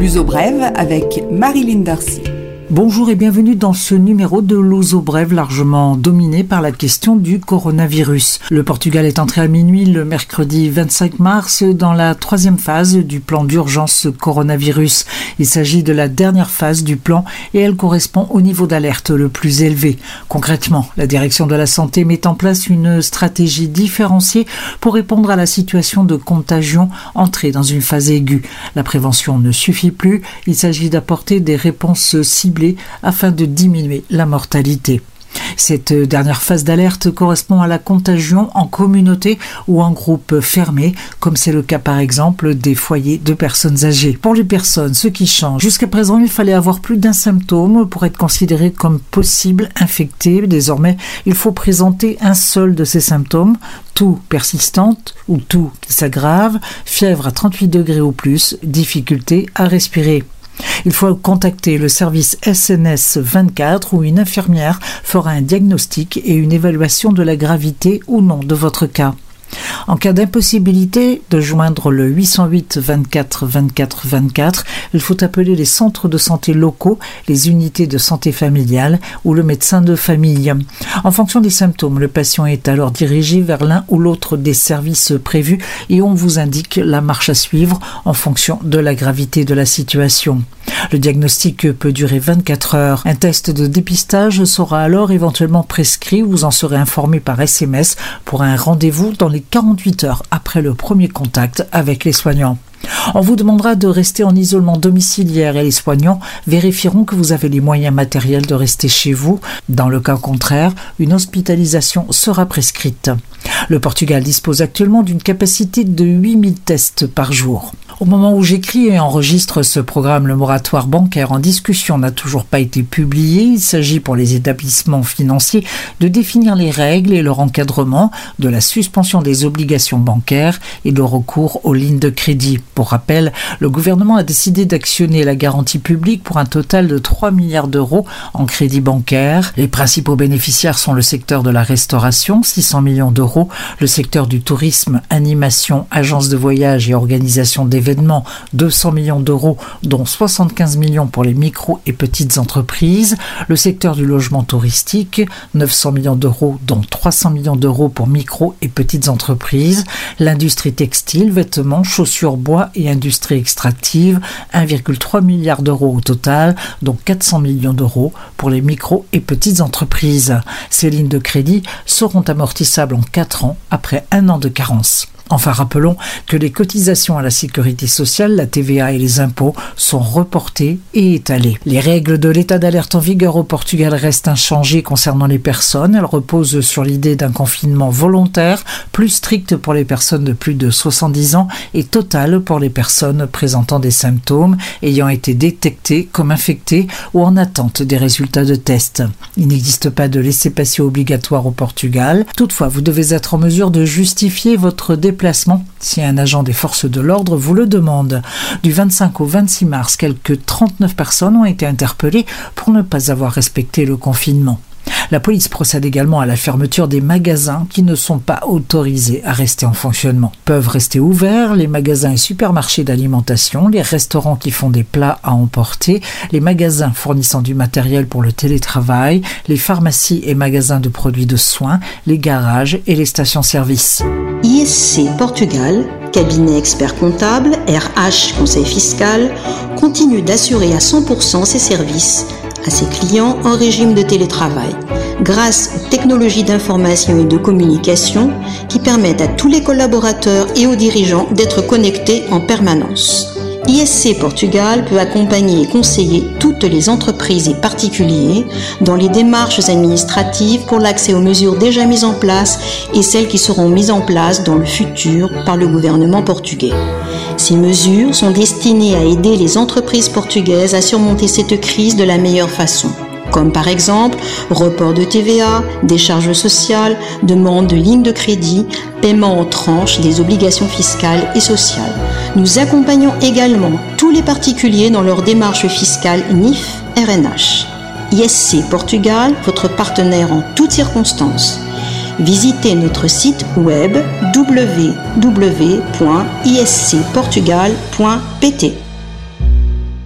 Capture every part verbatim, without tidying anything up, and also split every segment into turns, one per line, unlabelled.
L'Uso Brève avec Marilyn Darcy.
Bonjour et bienvenue dans ce numéro de l'Uso Brève largement dominé par la question du coronavirus. Le Portugal est entré à minuit le mercredi vingt-cinq mars dans la troisième phase du plan d'urgence coronavirus. Il s'agit de la dernière phase du plan et elle correspond au niveau d'alerte le plus élevé. Concrètement, la direction de la santé met en place une stratégie différenciée pour répondre à la situation de contagion entrée dans une phase aiguë. La prévention ne suffit plus, il s'agit d'apporter des réponses ciblées afin de diminuer la mortalité. Cette dernière phase d'alerte correspond à la contagion en communauté ou en groupe fermé, comme c'est le cas par exemple des foyers de personnes âgées. Pour les personnes, ce qui change, jusqu'à présent il fallait avoir plus d'un symptôme pour être considéré comme possible infecté. Désormais, il faut présenter un seul de ces symptômes, toux persistante ou toux qui s'aggrave, fièvre à trente-huit degrés ou plus, difficulté à respirer. Il faut contacter le service S N S vingt-quatre où une infirmière fera un diagnostic et une évaluation de la gravité ou non de votre cas. En cas d'impossibilité de joindre le huit cent huit vingt-quatre vingt-quatre vingt-quatre, il faut appeler les centres de santé locaux, les unités de santé familiale ou le médecin de famille. En fonction des symptômes, le patient est alors dirigé vers l'un ou l'autre des services prévus et on vous indique la marche à suivre en fonction de la gravité de la situation. Le diagnostic peut durer vingt-quatre heures. Un test de dépistage sera alors éventuellement prescrit. Vous en serez informé par S M S pour un rendez-vous dans les quarante-huit heures après le premier contact avec les soignants. On vous demandera de rester en isolement domiciliaire et les soignants vérifieront que vous avez les moyens matériels de rester chez vous. Dans le cas contraire, une hospitalisation sera prescrite. Le Portugal dispose actuellement d'une capacité de huit mille tests par jour. Au moment où j'écris et enregistre ce programme, le moratoire bancaire en discussion n'a toujours pas été publié. Il s'agit pour les établissements financiers de définir les règles et leur encadrement de la suspension des obligations bancaires et de recours aux lignes de crédit. Pour rappel, le gouvernement a décidé d'actionner la garantie publique pour un total de trois milliards d'euros en crédit bancaire. Les principaux bénéficiaires sont le secteur de la restauration, six cents millions d'euros, le secteur du tourisme, animation, agences de voyage et organisation d'événements, deux cents millions d'euros, dont soixante-quinze millions pour les micro et petites entreprises, le secteur du logement touristique, neuf cents millions d'euros, dont trois cents millions d'euros pour micro et petites entreprises, l'industrie textile, vêtements, chaussures, bois et industrie extractive, un virgule trois milliard d'euros au total, dont quatre cents millions d'euros pour les micro et petites entreprises. Ces lignes de crédit seront amortissables en quatre ans après un an de carence. Enfin, rappelons que les cotisations à la sécurité sociale, la T V A et les impôts sont reportées et étalées. Les règles de l'état d'alerte en vigueur au Portugal restent inchangées concernant les personnes. Elles reposent sur l'idée d'un confinement volontaire, plus strict pour les personnes de plus de soixante-dix ans et total pour les personnes présentant des symptômes ayant été détectées comme infectées ou en attente des résultats de tests. Il n'existe pas de laissez-passer obligatoire au Portugal. Toutefois, vous devez être en mesure de justifier votre déplacement déplacement si un agent des forces de l'ordre vous le demande. Du vingt-cinq au vingt-six mars, quelques trente-neuf personnes ont été interpellées pour ne pas avoir respecté le confinement. La police procède également à la fermeture des magasins qui ne sont pas autorisés à rester en fonctionnement. Peuvent rester ouverts les magasins et supermarchés d'alimentation, les restaurants qui font des plats à emporter, les magasins fournissant du matériel pour le télétravail, les pharmacies et magasins de produits de soins, les garages et les stations-service.
I S C Portugal, cabinet expert comptable, R H conseil fiscal, continue d'assurer à cent pour cent ses services à ses clients en régime de télétravail, grâce aux technologies d'information et de communication qui permettent à tous les collaborateurs et aux dirigeants d'être connectés en permanence. I S C Portugal peut accompagner et conseiller toutes les entreprises et particuliers dans les démarches administratives pour l'accès aux mesures déjà mises en place et celles qui seront mises en place dans le futur par le gouvernement portugais. Ces mesures sont destinées à aider les entreprises portugaises à surmonter cette crise de la meilleure façon, comme par exemple report de T V A, décharges sociales, demande de lignes de crédit, paiement en tranches des obligations fiscales et sociales. Nous accompagnons également tous les particuliers dans leur démarche fiscale N I F R N H. I S C Portugal, votre partenaire en toutes circonstances. Visitez notre site web w w w point i s c portugal point p t.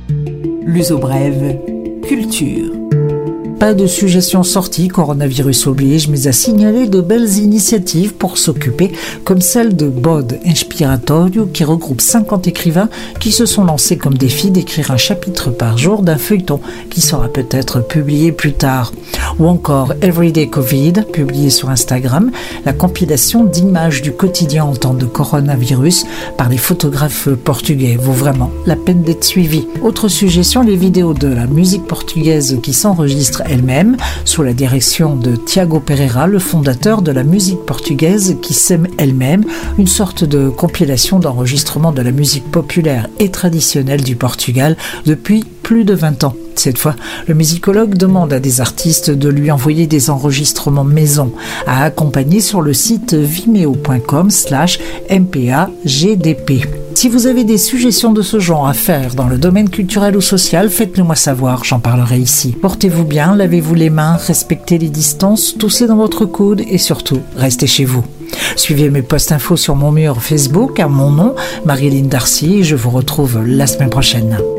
L'Uso Brève, culture.
Pas de suggestions sorties, coronavirus oblige, mais à signaler de belles initiatives pour s'occuper, comme celle de Bod Inspiratorio, qui regroupe cinquante écrivains qui se sont lancés comme défi d'écrire un chapitre par jour d'un feuilleton qui sera peut-être publié plus tard. Ou encore Everyday Covid, publié sur Instagram, la compilation d'images du quotidien en temps de coronavirus par des photographes portugais vaut vraiment la peine d'être suivi. Autre suggestion, les vidéos de la musique portugaise qui s'enregistrent elle-même, sous la direction de Tiago Pereira, le fondateur de la musique portugaise qui s'aime elle-même, une sorte de compilation d'enregistrement de la musique populaire et traditionnelle du Portugal depuis plus de vingt ans. Cette fois, le musicologue demande à des artistes de lui envoyer des enregistrements maison à accompagner sur le site vimeo point com slash m p a g d p. Si vous avez des suggestions de ce genre à faire dans le domaine culturel ou social, faites-le moi savoir, j'en parlerai ici. Portez-vous bien, lavez-vous les mains, respectez les distances, toussez dans votre coude et surtout, restez chez vous. Suivez mes posts infos sur mon mur Facebook à mon nom, Marilyn Darcy, et je vous retrouve la semaine prochaine.